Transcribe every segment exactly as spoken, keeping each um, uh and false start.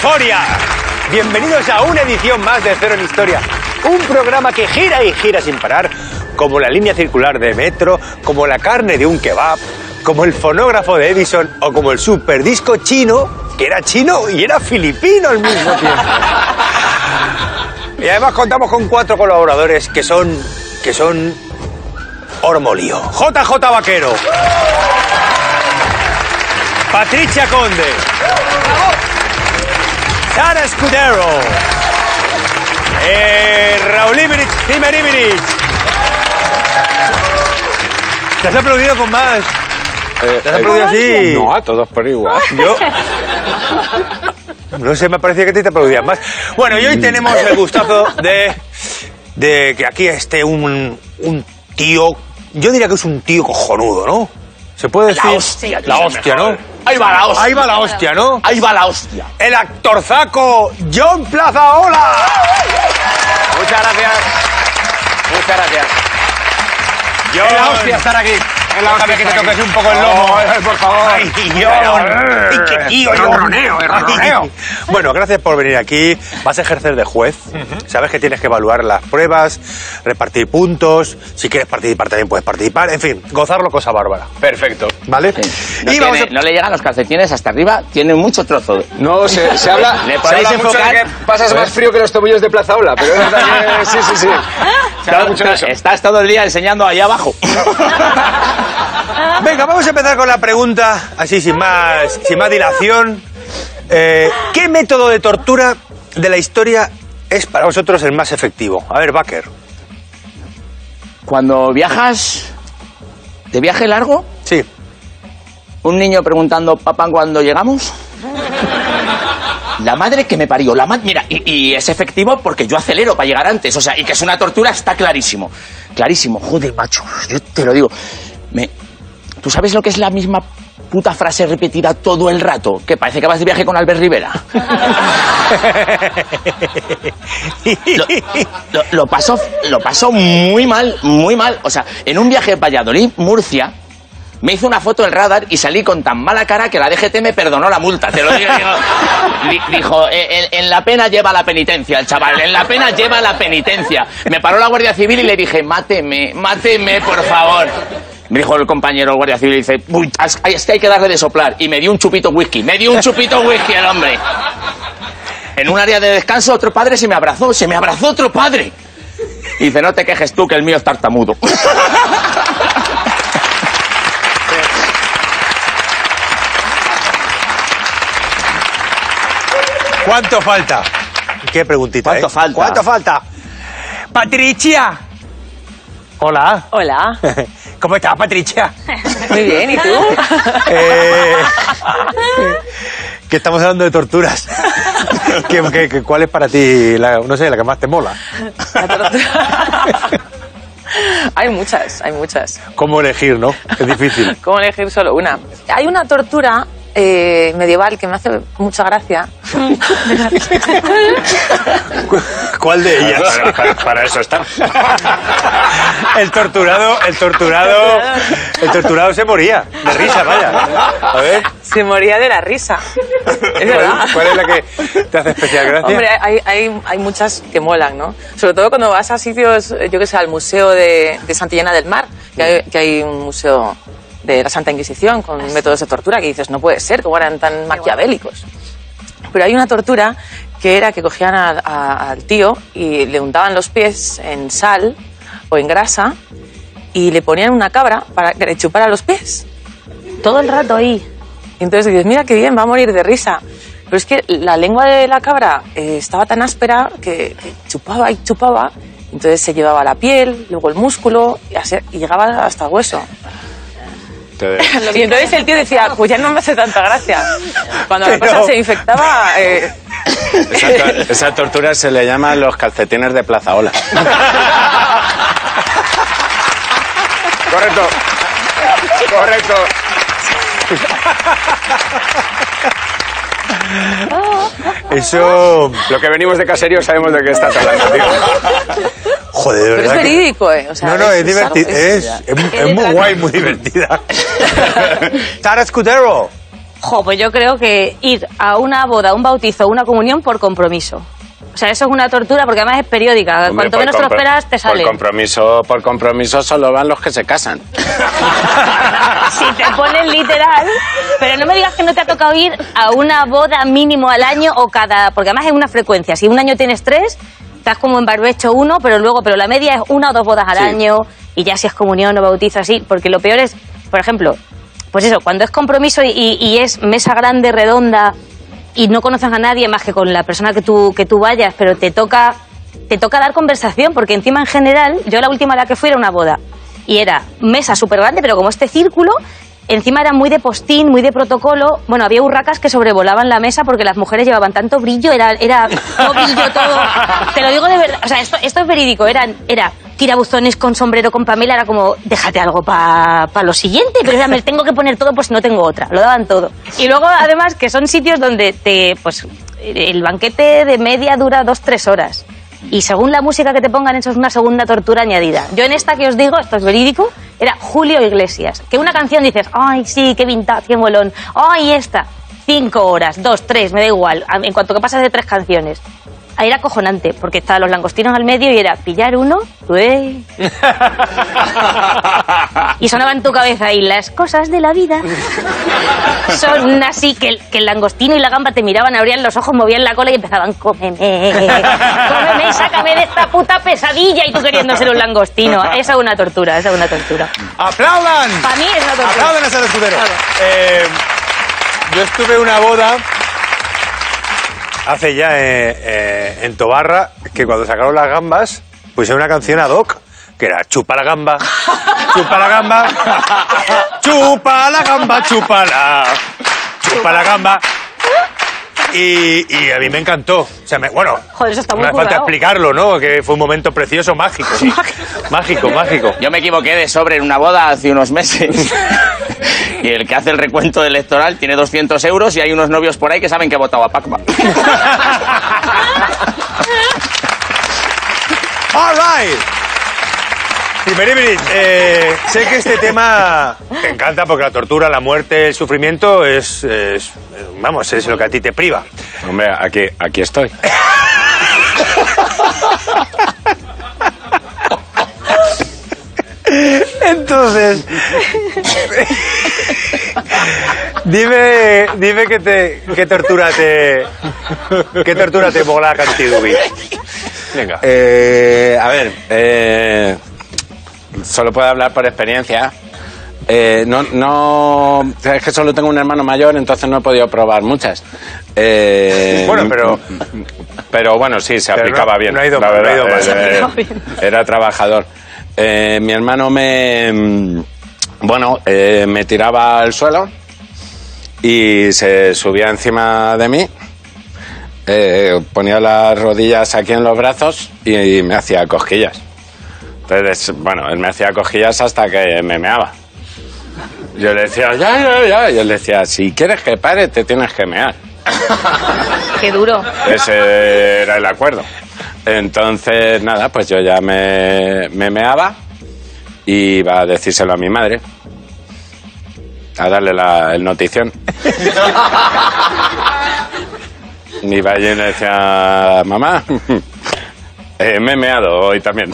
Historia. Bienvenidos a una edición más de Cero en Historia. Un programa que gira y gira sin parar, como la línea circular de metro, como la carne de un kebab, como el fonógrafo de Edison o como el superdisco chino, que era chino y era filipino al mismo tiempo. Y además contamos con cuatro colaboradores que son... que son... Ormolío. J J Vaquero. Patricia Conde. Sara Escudero. Eh, Raúl Ibrich, Timer Ibrich. ¿Te has aplaudido con más? Eh, ¿Te has aplaudido así? No, a todos por igual. Yo... No sé, me parecía que te, te aplaudías más. Bueno, y hoy tenemos el gustazo de... de que aquí esté un, un tío... Yo diría que es un tío cojonudo, ¿no? ¿Se puede decir? La hostia. La hostia, ¿no? Ahí va la hostia. Ahí va la hostia, ¿no? Ahí va la hostia. El actorzaco John Plazaola. Muchas gracias. Muchas gracias. John. Es la hostia estar aquí. Déjame que te toques un poco el lomo. Oh, por favor. Ay, John. Ay, qué tío, El John. ronroneo, el ronroneo. Ay. Bueno, gracias por venir aquí. Vas a ejercer de juez. Uh-huh. Sabes que tienes que evaluar las pruebas, repartir puntos. Si quieres participar también puedes participar. En fin, gozarlo, cosa bárbara. Perfecto. ¿Vale? Sí. No, y vamos tiene, a... no le llegan los calcetines hasta arriba, tiene mucho trozo. No, se, se habla, ¿Le se podéis habla mucho de enfocar? que pasas más frío que los tomillos de Plazaola, pero es verdad que sí, sí, sí. Se habla mucho de eso. Estás todo el día enseñando ahí abajo. Venga, vamos a empezar con la pregunta, así sin más, sin más dilación. Eh, ¿Qué método de tortura de la historia es para vosotros el más efectivo? A ver, Baker. Cuando viajas de viaje largo, Sí. un niño preguntando, papá, ¿cuándo llegamos? La madre que me parió, la madre... Mira, y, y es efectivo porque yo acelero para llegar antes, o sea, y que es una tortura está clarísimo. Clarísimo, joder, macho, yo te lo digo. Me... ¿Tú sabes lo que es la misma puta frase repetida todo el rato? Que parece que vas de viaje con Albert Rivera. lo, lo, lo, pasó, lo pasó muy mal, muy mal. O sea, en un viaje a Valladolid, Murcia, me hizo una foto del radar y salí con tan mala cara que la D G T me perdonó la multa. Te lo digo. digo dijo, en, en la pena lleva la penitencia, el chaval. En la pena lleva la penitencia. Me paró la Guardia Civil y le dije, máteme, máteme, por favor. Me dijo el compañero el Guardia Civil y dice, uy, es que hay que darle de soplar. Y me dio un chupito whisky, me dio un chupito whisky el hombre. En un área de descanso otro padre se me abrazó, se me abrazó otro padre. Y dice, no te quejes tú que el mío es tartamudo. ¿Cuánto falta? ¿Qué preguntita, ¿Cuánto eh? falta? ¿Cuánto falta? Patricia. Hola. Hola. ¿Cómo estás, Patricia? Muy bien, ¿y tú? Eh, que estamos hablando de torturas. ¿Qué, qué, qué, ¿Cuál es para ti, la, no sé, la que más te mola? La tortura. Hay muchas, hay muchas. ¿Cómo elegir, no? Es difícil. ¿Cómo elegir solo una? Hay una tortura eh, medieval que me hace mucha gracia. ¿Cuál de ellas? Para, para, para eso está. El torturado, el torturado, el torturado se moría de risa, vaya. A ver. Se moría de la risa. Es verdad. ¿Cuál, ¿Cuál es la que te hace especial gracia? Hombre, hay, hay, hay muchas que molan, ¿no? Sobre todo cuando vas a sitios, yo que sé, al Museo de, de Santillana del Mar, que hay, que hay un museo de la Santa Inquisición con métodos de tortura que dices, no puede ser, cómo eran tan maquiavélicos. Pero hay una tortura que era que cogían a, a, al tío y le untaban los pies en sal o en grasa y le ponían una cabra para que le chupara los pies. Todo el rato ahí. Y entonces dices, mira qué bien, va a morir de risa. Pero es que la lengua de la cabra eh, estaba tan áspera que, que chupaba y chupaba. Entonces se llevaba la piel, luego el músculo y, así, y llegaba hasta el hueso. Y entonces el tío decía, pues ya no me hace tanta gracia. Cuando la cosa se infectaba... Eh... Esa, to esa tortura se le llama los calcetines de Plazaola. Correcto. Correcto. Eso... Lo que venimos de caserío sabemos de qué estás hablando, tío. Joder, de Pero verdad. es que... verídico, ¿eh? O sea, no, no, es, es divertido. Es, es, es, es muy guay, muy divertida. Sara Escudero. Jo, pues yo creo que ir a una boda, un bautizo, una comunión por compromiso. O sea, eso es una tortura porque además es periódica. Hombre, Cuanto menos te lo esperas, te sale. Por compromiso, por compromiso solo van los que se casan. Si te ponen literal. Pero no me digas que no te ha tocado ir a una boda mínimo al año o cada... Porque además es una frecuencia. Si un año tienes tres, estás como en barbecho uno, pero luego... Pero la media es una o dos bodas al sí. año. Y ya si es comunión o bautizo así. Porque lo peor es, por ejemplo... Pues eso, cuando es compromiso y, y es mesa grande, redonda... y no conoces a nadie más que con la persona que tú, que tú vayas, pero te toca, te toca dar conversación, porque encima en general, yo la última a la que fui era una boda, y era mesa súper grande, pero como este círculo, encima era muy de postín, muy de protocolo, bueno, había urracas que sobrevolaban la mesa porque las mujeres llevaban tanto brillo, era, era todo brillo, todo, te lo digo de verdad, o sea, esto, esto es verídico, era, era tirabuzones con sombrero con Pamela, era como, déjate algo para pa lo siguiente, pero ya me tengo que poner todo, pues no tengo otra, lo daban todo. Y luego, además, que son sitios donde te, pues, el banquete de media dura dos, tres horas. Y según la música que te pongan, eso es una segunda tortura añadida. Yo en esta que os digo, esto es verídico, era Julio Iglesias. Que una canción dices, ay, sí, qué vintage, qué molón. Ay, esta, cinco horas, dos, tres, me da igual. En cuanto que pasas de tres canciones. Ahí era acojonante, porque estaban los langostinos al medio y era pillar uno, ué. Y sonaba en tu cabeza, y las cosas de la vida son así, que el, que el langostino y la gamba te miraban, abrían los ojos, movían la cola y empezaban, cómeme, cómeme, sácame de esta puta pesadilla, y tú queriendo ser un langostino. Esa es una tortura, esa es una tortura. ¡Aplaudan! Para mí es una tortura. ¡Aplaudan a ese torturero! Claro. Eh, yo estuve en una boda hace ya eh, eh, en Tobarra, que cuando sacaron las gambas, pusieron una canción ad hoc, que era chupa la gamba, chupa la gamba, chupa la gamba, chúpala, chupa la gamba. Y, y a mí me encantó. O sea, me, bueno, joder, eso está muy no hace falta currado. explicarlo, ¿no? Que fue un momento precioso, mágico. Sí. Mágico, mágico. Yo me equivoqué de sobre en una boda hace unos meses. Y el que hace el recuento electoral tiene doscientos euros y hay unos novios por ahí que saben que ha votado a Pacma. All right. Primeribris, eh, sé que este tema te encanta porque la tortura, la muerte, el sufrimiento es, es, vamos, es lo que a ti te priva. Hombre, aquí, aquí estoy. Entonces, dime, dime qué te, qué tortura te, qué tortura te mola Cantidubi. Venga. Eh, a ver, eh, solo puedo hablar por experiencia. Eh, no, no, es que solo tengo un hermano mayor, entonces no he podido probar muchas. Eh, bueno, pero, pero bueno, sí, se pero aplicaba no, bien. No ha ido la mal, verdad, no ha ido mal. eh, Se aplicaba bien. Era trabajador. Eh, mi hermano me, bueno, eh, me tiraba al suelo y se subía encima de mí. Eh, ponía las rodillas aquí en los brazos y, y me hacía cosquillas. Entonces, bueno, él me hacía cosquillas hasta que me meaba. Yo le decía, ya, ya, ya. Y él decía, si quieres que pare, te tienes que mear. Qué duro. Ese era el acuerdo. Entonces, nada, pues yo ya me, me meaba y iba a decírselo a mi madre, a darle la, el notición. Y iba allí y le decía, mamá, eh, me he meado hoy también.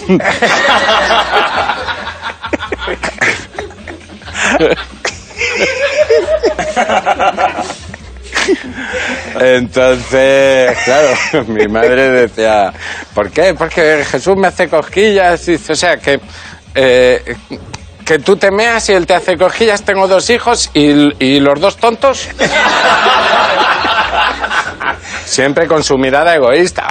Entonces, claro, mi madre decía, ¿por qué? Porque Jesús me hace cosquillas. Y dice, o sea, que, eh, que tú te meas y él te hace cosquillas. Tengo dos hijos y, y los dos tontos. Siempre con su mirada egoísta.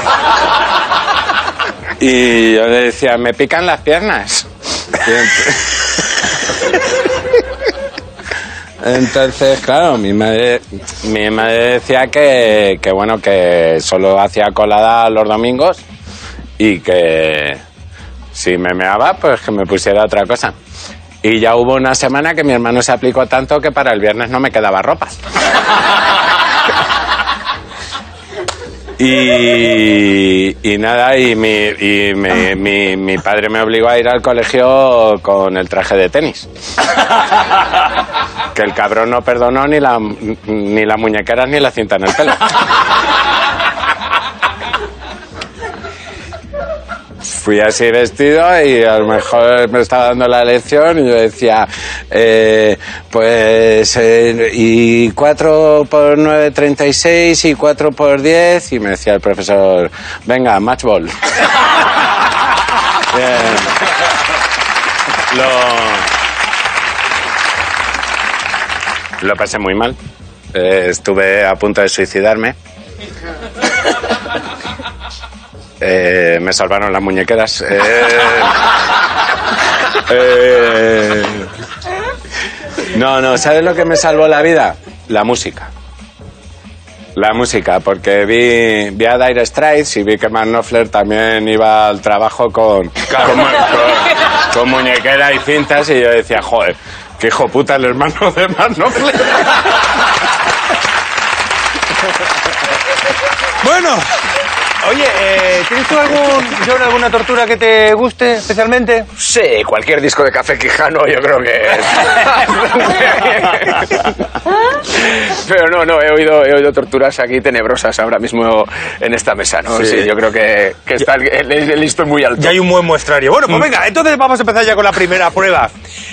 Y yo le decía, me pican las piernas. Y ent- Entonces, claro, mi madre, mi madre decía que, que, bueno, que solo hacía colada los domingos y que si me meaba, pues que me pusiera otra cosa. Y ya hubo una semana que mi hermano se aplicó tanto que para el viernes no me quedaba ropa. Y, y nada, y, mi, y mi, mi, mi padre me obligó a ir al colegio con el traje de tenis. que el cabrón no perdonó ni la ni las muñequeras ni la cinta en el pelo. Fui así vestido y a lo mejor me estaba dando la lección y yo decía, eh, pues, eh, y cuatro por nueve, treinta y seis, y cuatro por diez, y me decía el profesor, venga, match ball. Bien. Lo, lo pasé muy mal. Eh, estuve a punto de suicidarme. Eh, me salvaron las muñequeras. Eh, eh, no, no, ¿sabes lo que me salvó la vida? La música. La música, porque vi, vi a Dire Straits y vi que Mark Knopfler también iba al trabajo con, con, con, con muñequera y cintas y yo decía, joder, qué hijo puta el hermano de Mark Knopfler. Bueno, oye, eh, ¿tienes tú algún, John, alguna tortura que te guste especialmente? Sí, cualquier disco de Café Quijano yo creo que... Pero no, no, he oído, he oído torturas aquí tenebrosas ahora mismo en esta mesa, ¿no? Sí, sí, yo creo que, que está el, el, el listón muy alto. Ya hay un buen muestrario. Bueno, pues venga, entonces vamos a empezar ya con la primera prueba.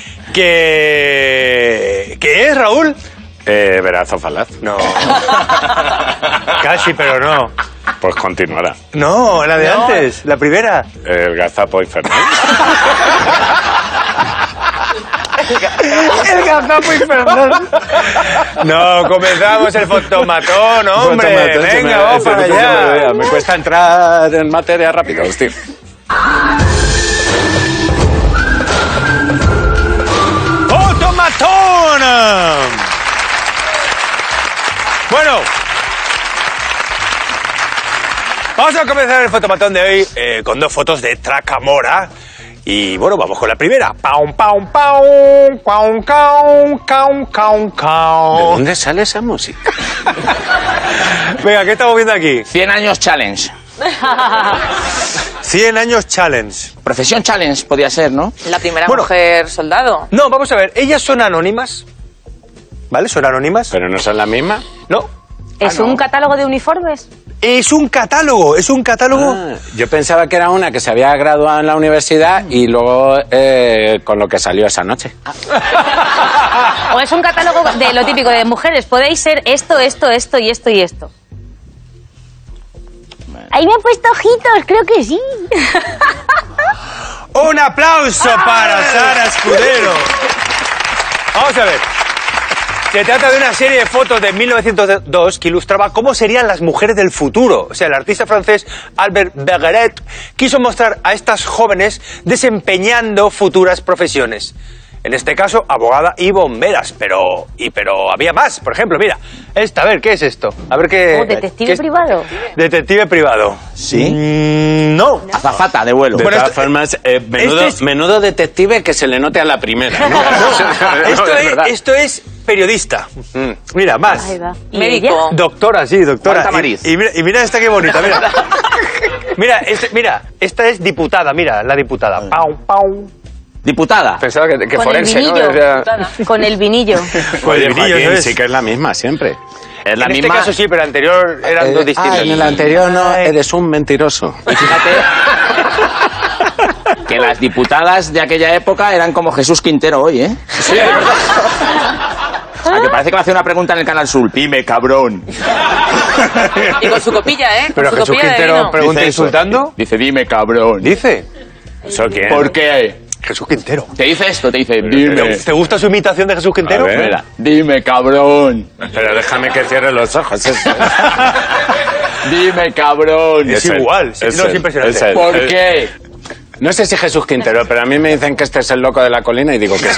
¿Qué, ¿Qué es, Raúl? Eh, verazo falaz. No. Casi, pero no. Pues continuará. No, la de no. antes, la primera. El gazapo infernal. El gazapo infernal. No, comenzamos el fotomatón, hombre. Fotomatón, venga, vamos para allá. Me cuesta entrar en materia rápido, hostia. ¡Fotomatón! Bueno, vamos a comenzar el fotomatón de hoy eh, con dos fotos de Tracamora. Y bueno, vamos con la primera. Paum, paum, paum, paum, caum, caum, caum, caum. ¿De dónde sale esa música? Venga, ¿qué estamos viendo aquí? cien años challenge. cien años challenge. Profesión challenge podía ser, ¿no? La primera Bueno, mujer soldado. No, vamos a ver, ellas son anónimas. ¿Vale? ¿Son anónimas? ¿Pero no son las mismas? No. ¿Es Ah, no. un catálogo de uniformes? Es un catálogo, es un catálogo. Ah, yo pensaba que era una que se había graduado en la universidad y luego eh, con lo que salió esa noche. ¿O es un catálogo de lo típico de mujeres? Podéis ser esto, esto, esto y esto y esto. Ahí me han puesto ojitos, creo que sí. Un aplauso para Sara Escudero. Vamos a ver. Se trata de una serie de fotos de mil novecientos dos que ilustraba cómo serían las mujeres del futuro. O sea, el artista francés Albert Bergeret quiso mostrar a estas jóvenes desempeñando futuras profesiones. En este caso, abogada y bomberas. Pero, y, pero había más. Por ejemplo, mira, esta, a ver, ¿qué es esto? A ver qué... ¿Oh, detective ¿qué es? privado? Detective privado. ¿Sí? Mm, no. Azafata de vuelo. De Bueno, todas esto- formas, eh, menudo, este es- menudo detective que se le note a la primera, ¿no? esto, es es, verdad. esto es periodista. Mira, más. Ahí va. ¿Y Médico. ella? Doctora, sí, doctora. Marta Y, Mariz. y mira, y mira esta qué bonita, mira. Mira, este- mira, esta es diputada, mira, la diputada. Pau, pau. Diputada. Pensaba que, que Con forense, el ¿no? vinillo. Decía- Con el vinillo. Oye, El brillo, Joaquín, ¿no es? sí que es la misma siempre. Es la en misma. este caso sí, pero el anterior eran dos distintos. Ah, en el anterior no, eres un mentiroso. Y fíjate que las diputadas de aquella época eran como Jesús Quintero hoy, ¿eh? Sí, es verdad. A que parece que me hace una pregunta en el Canal Sur. Dime, cabrón. Y con su copilla, ¿eh? Con Pero su Jesús copilla de Quintero vino. pregunta Dice eso. insultando. Dice, dime, cabrón. Dice. ¿Eso quién? ¿Por qué? Jesús Quintero. Te dice esto, te dice, dime. ¿Te gusta su imitación de Jesús Quintero? A ver. Mira, dime, cabrón. Pero déjame que cierre los ojos. Es, Dime, cabrón. Es igual, sí, no, es él, impresionante. es él. ¿Por Eh, qué? No sé si Jesús Quintero, pero a mí me dicen que este es el loco de la colina y digo que sí.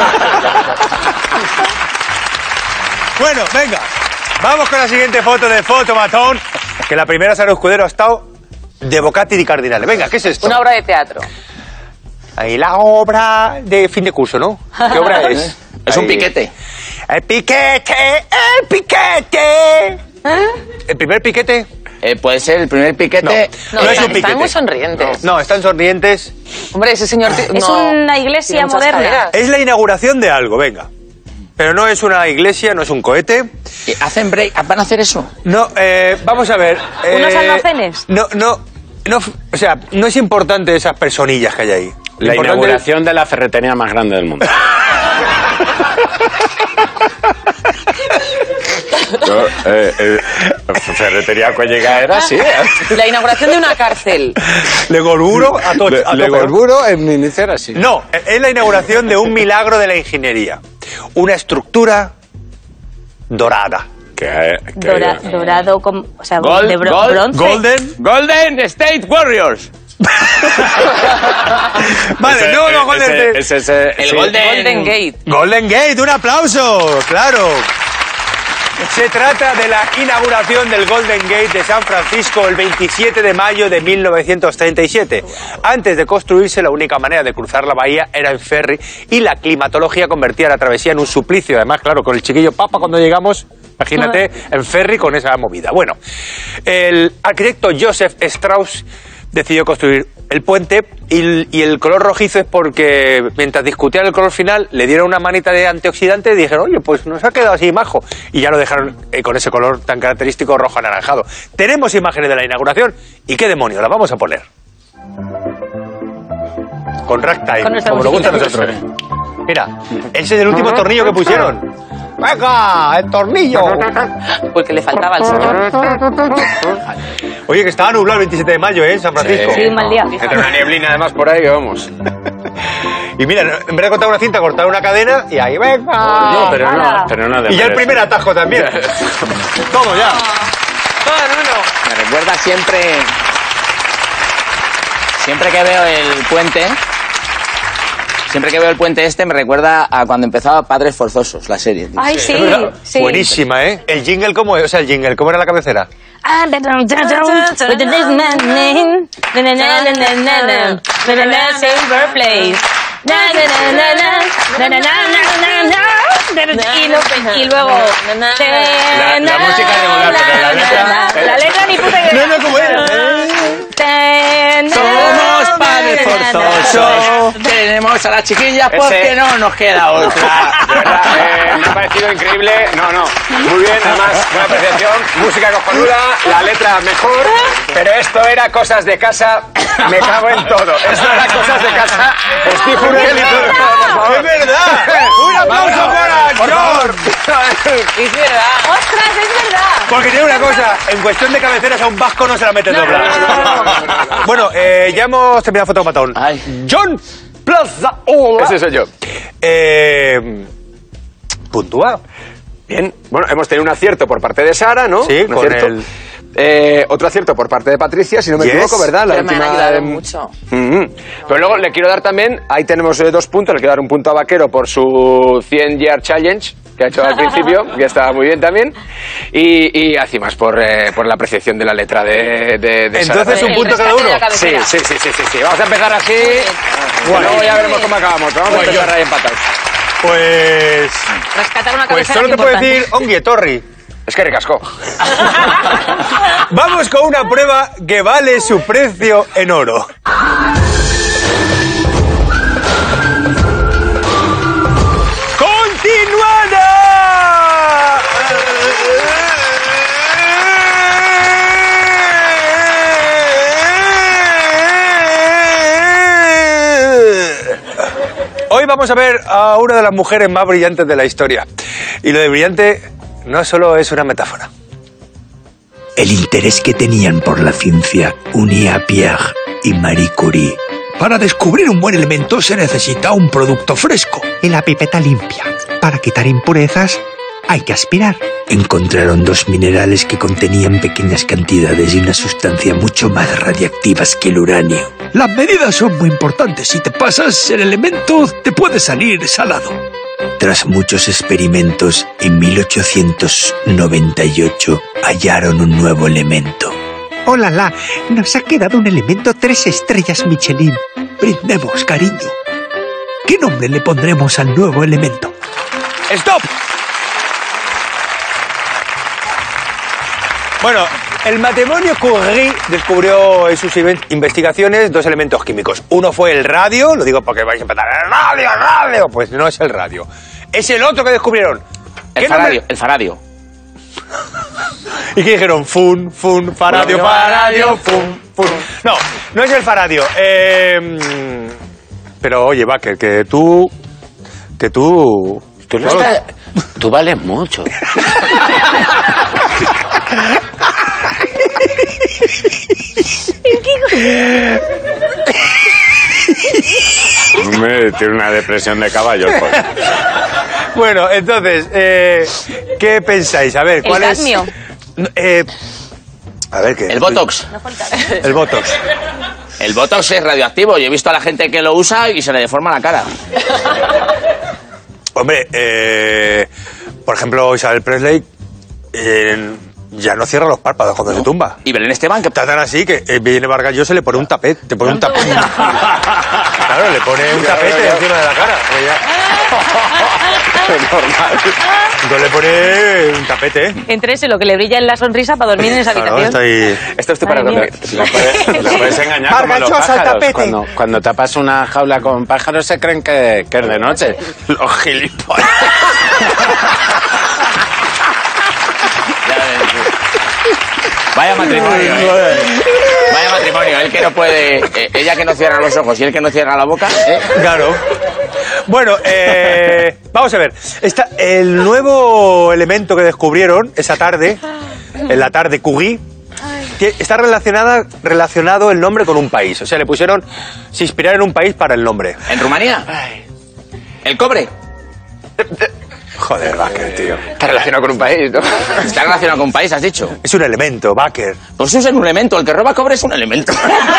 Bueno, venga. Vamos con la siguiente foto de Fotomatón. Que la primera Sara Escudero ha estado de Bocati di Cardinale. Venga, ¿qué es esto? Una obra de teatro. Ahí la obra de fin de curso, ¿no? ¿Qué obra es? Es un Ahí. piquete. El piquete, el piquete. ¿El primer piquete? Eh, puede ser el primer piquete. No, No, no es están, un piquete. están muy sonrientes. No, están sonrientes. Hombre, ese señor... Es no, una iglesia tiene muchas moderna. caderas. Es la inauguración de algo, venga. pero no es una iglesia, no es un cohete. ¿Hacen break? ¿Van a hacer eso? No, eh, vamos a ver. ¿Unos eh, almacenes? No, no, no, o sea, no es importante esas personillas que hay ahí. Lo La importante inauguración de la ferretería más grande del mundo. Yo, eh, eh, ferretería Cuellega era así. La inauguración de una cárcel. Le Gorburo a, to Le, a Le tope. Gorburo en mi inicio era así. No, es la inauguración de un milagro de la ingeniería. Una estructura dorada. Que, que- Dora- dorado, con, o sea, Gold, de bro- gold, bronce. Golden. Golden State Warriors. Vale, ese- no, no, Golden ese- State. ese- ese- El sí. Golden... Golden Gate. Golden Gate, un aplauso, claro. Se trata de la inauguración del Golden Gate de San Francisco el veintisiete de mayo de mil novecientos treinta y siete. Antes de construirse, la única manera de cruzar la bahía era en ferry y la climatología convertía la travesía en un suplicio. Además, claro, con el chiquillo papa cuando llegamos, imagínate, en ferry con esa movida. Bueno, el arquitecto Joseph Strauss decidió construir el puente y, y el color rojizo es porque mientras discutían el color final le dieron una manita de antioxidante y dijeron, oye, pues nos ha quedado así majo, y ya lo dejaron eh, con ese color tan característico rojo anaranjado. Tenemos imágenes de la inauguración y qué demonios, las vamos a poner con ragtime, Con nuestra como nos gusta a musiquita. nosotros. Mira, ese es el último tornillo que pusieron. ¡Venga, el tornillo! Porque le faltaba al señor. Oye, que estaba nublado el veintisiete de mayo, ¿eh? En San Francisco. Sí, un mal día. Entre una nieblina además por ahí, vamos. Y mira, en vez de cortar una cinta, cortar una cadena y ahí, venga. No, pero no, pero no de Y ya el merece. primer atajo también. Todo ya. Todo en uno. Me recuerda siempre... Siempre que veo el puente... Siempre que veo el puente este me recuerda a cuando empezaba Padres Forzosos, la serie. tío. Ay, sí, ¿Es verdad? sí. Buenísima, ¿eh? El jingle, ¿cómo es? O sea, el jingle, ¿cómo era la cabecera? Ah, da, da, da, da, with the next man name. Na, na, na, na, na, na, na. Na, na, na, silver place. Na, na, na, na, na. Na, na, na, na, na, na. Y lo- Y luego... La- la música de volar, pero la letra- La letra ni puta idea. No, no, ¿cómo era? Somos Padres Forzosos. Tenemos a la chiquilla porque Ese- no nos queda otra. De verdad, eh, me ha parecido increíble. No, no. Muy bien, además, buena apreciación. Música cojonuda, la letra mejor. Pero esto era cosas de casa. Me cago en todo. Esto era cosas de casa. Steve Urkel y todo, por favor. ¡Es verdad! ¡Un aplauso para George! Es verdad. ¡Ostras, es verdad! Porque tiene una cosa, en cuestión de cabeceras a un vasco no se la mete doblada. Bueno, eh, ya hemos terminado Fotomatón. Ay. John Plaza Ola. Ese soy yo. Eh, puntúa. Bien. Bueno, hemos tenido un acierto por parte de Sara, ¿no? Sí, Un con acierto. el- Eh, otro acierto por parte de Patricia, si no me Yes. equivoco, ¿verdad? Pero me han última, ayudado em, mucho. Mhm. Pero luego le quiero dar también, ahí tenemos eh, dos puntos, le quiero dar un punto a Vaquero por su cien Year Challenge que ha hecho al principio, que estaba muy bien también, y, y además por, eh, por la apreciación de la letra de, de, de Sara. Entonces, un El punto cada rescate de uno. la cabecera. Sí, sí, sí, sí, sí, sí. Vamos a empezar así, bueno, luego ya veremos cómo acabamos, pero vamos a Pues empezar yo- ahí empatados. Pues... Rescatar una Pues cabecera solo es te puedo importante. decir Ongie Torri. Es que recascó. Vamos con una prueba que vale su precio en oro. ¡Continuada! Hoy vamos a ver a una de las mujeres más brillantes de la historia. Y lo de brillante no solo es una metáfora. El interés que tenían por la ciencia unía a Pierre y Marie Curie. Para descubrir un buen elemento se necesita un producto fresco. Y la pipeta limpia. Para quitar impurezas hay que aspirar. Encontraron dos minerales que contenían pequeñas cantidades y una sustancia mucho más radiactivas que el uranio. Las medidas son muy importantes. Si te pasas el elemento, te puede salir salado. Tras muchos experimentos, en mil ochocientos noventa y ocho hallaron un nuevo elemento. ¡Oh, la, la! Nos ha quedado un elemento tres estrellas Michelin. Brindemos, cariño. ¿Qué nombre le pondremos al nuevo elemento? ¡Stop! Bueno, el matrimonio Curie descubrió en sus in- investigaciones dos elementos químicos. Uno fue el radio, lo digo porque vais a empezar, ¡el radio, el radio! Pues no es el radio. es el otro que descubrieron. El ¿Qué faradio, nombre? el faradio. ¿Y qué dijeron? Fun, fun, faradio, faradio, fun, fun. No, no es el faradio. Eh, pero oye, Baker, que tú... Que tú... Tú, no estás- tú vales mucho. Me tiene una depresión de caballo. Pues. Bueno, entonces, eh, ¿qué pensáis? A ver, El ¿cuál es...? cadmio. Eh, a ver, ¿qué? El Botox. El Botox. El Botox es radioactivo. Yo he visto a la gente que lo usa y se le deforma la cara. Hombre, eh, por ejemplo, Isabel Presley eh, ya no cierra los párpados cuando se tumba. Y Belén Esteban, que Está tan así que eh, viene Vargas Llosa, le pone un tapete. Te pone un tapete. Claro, le pone un tapete encima de la cara. Entonces le pone un tapete, ¿eh? Entre ese lo que le brilla en la sonrisa para dormir en esa Claro, habitación. está ahí. Esto estoy para Madre mía. contar. Lo puedes, lo puedes engañar como los Margachosa, el pájaros. tapete. Cuando, cuando tapas una jaula con pájaros se creen que, que es de noche. Los gilipollas. Ya ves. Vaya matrimonio, ¿eh? Vaya matrimonio. Él que no puede... eh, ella que no cierra los ojos y él que no cierra la boca, ¿eh? Claro. Bueno, eh, vamos a ver. Está el nuevo elemento que descubrieron esa tarde, en la tarde Curie, que está relacionada, relacionado el nombre con un país. O sea, le pusieron, se inspiraron en un país para el nombre. ¿En Rumanía? ¿El cobre? Joder, Baker, tío. Está relacionado con un país, ¿no? Está relacionado con un país, has dicho. Es un elemento, Baker. Pues es un elemento. El que roba cobre es un elemento.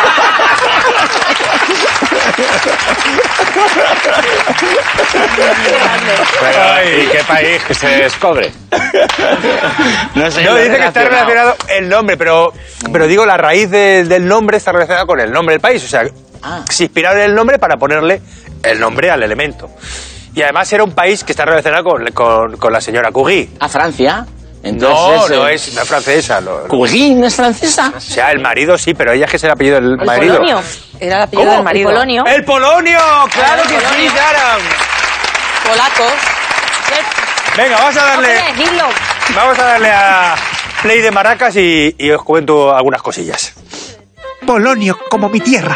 Pero, ¿y qué país que se descubre? No sé. No, lo he dice que está relacionado el nombre, pero, pero digo, la raíz de- del nombre está relacionada con el nombre del país. O sea, Ah. se inspiraron en el nombre para ponerle el nombre al elemento. Y además era un país que está relacionado con, con, con la señora Curie. ¿A Francia? No, Entonces, no eh, es, no es francesa. lo- lo- ¿Curie no es francesa? o sea, el marido sí, pero ella es que es el apellido del El marido. Polonio. Era el apellido ¿Cómo? del marido. El Polonio. ¡El Polonio! ¡Claro El que sí, Polonio. Sara! Polacos. Venga, vamos a darle, Hombre, dilo. vamos a darle a play de maracas y, y os cuento algunas cosillas. Polonio como mi tierra.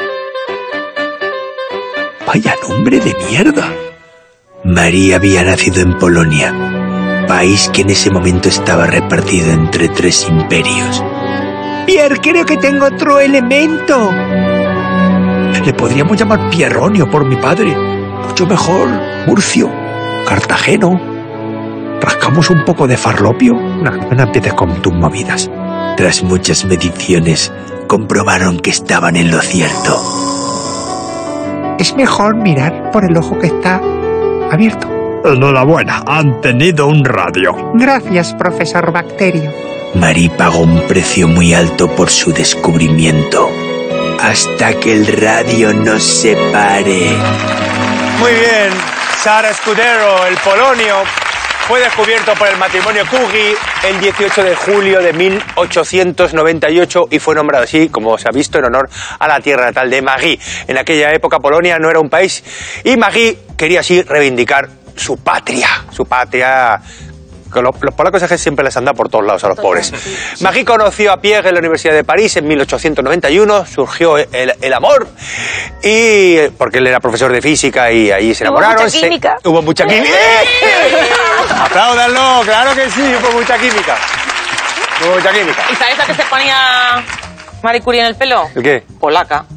Vaya nombre de mierda. María había nacido en Polonia, país que en ese momento estaba repartido entre tres imperios. Pierre, creo que tengo otro elemento. Le podríamos llamar Pierronio por mi padre. Mucho mejor. Murcio, Cartageno. ¿Rascamos un poco de farlopio? No, no empieces con tus movidas. Tras muchas mediciones, comprobaron que estaban en lo cierto. Es mejor mirar por el ojo que está abierto. Enhorabuena, han tenido un radio. Gracias, profesor Bacterio. Marie pagó un precio muy alto por su descubrimiento. Hasta que el radio nos separe. Muy bien, Sara Scudero, el Polonio, fue descubierto por el matrimonio Curie el dieciocho de julio de mil ochocientos noventa y ocho y fue nombrado así, como se ha visto, en honor a la tierra natal de Marie. En aquella época Polonia no era un país y Marie quería así reivindicar su patria, su patria. Que Los, los polacos es que siempre les han dado por todos lados a los pobres. Marie conoció a Pierre en la Universidad de París en mil ochocientos noventa y uno, surgió el, el amor, y porque él era profesor de física y ahí se Hubo enamoraron. mucha se- química. hubo mucha química. ¡Apláudanlo! ¡Claro que sí! Hubo mucha química. Hubo mucha química. ¿Y sabes a qué se ponía Marie Curie en el pelo? ¿El qué? Polaca.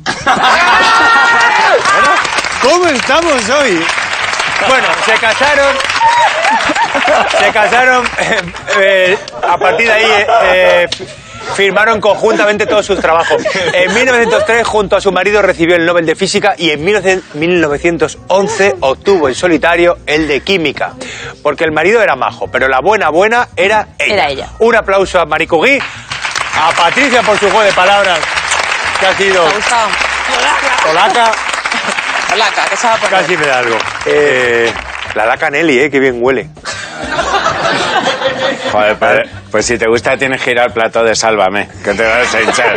¿Cómo estamos hoy? Bueno, se casaron. Se casaron. eh, eh, a partir de ahí eh, eh, firmaron conjuntamente todos sus trabajos. En mil novecientos tres, junto a su marido, recibió el Nobel de Física y en mil novecientos once obtuvo en solitario el de Química. Porque el marido era majo, pero la buena buena era ella. Era ella. Un aplauso a Marie Curie, a Patricia por su juego de palabras, que ha sido ¿Te ha gustado? polaca. Polaca, que se va a poner. Casi me da algo. Eh, la laca Nelly, eh, que bien huele. Joder, pues, pues si te gusta tienes que ir al plató de Sálvame, que te vas a hinchar.